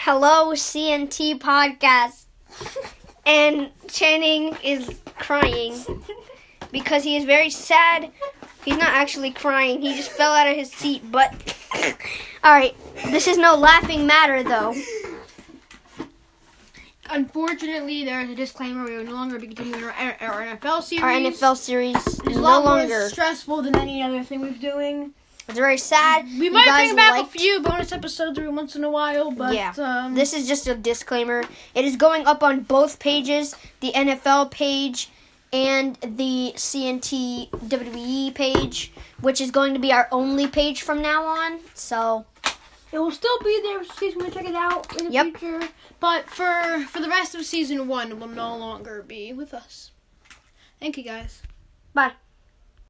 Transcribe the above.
Hello, CNT podcast. And Channing is crying because he is very sad. He's not actually crying. He just fell out of his seat. But, alright, this is no laughing matter, though. Unfortunately, there is a disclaimer. We will no longer be continuing our NFL series. Our NFL series is It's a no lot longer. more stressful than any other thing we're doing. It's very sad. We You might guys bring back liked- a few bonus episodes every once in a while, but This is just a disclaimer. It is going up on both pages, the NFL page and the CNT WWE page, which is going to be our only page from now on. So, it will still be there in case you want to check it out in the Yep. future. But for the rest of season 1, it will no longer be with us. Thank you, guys. bye.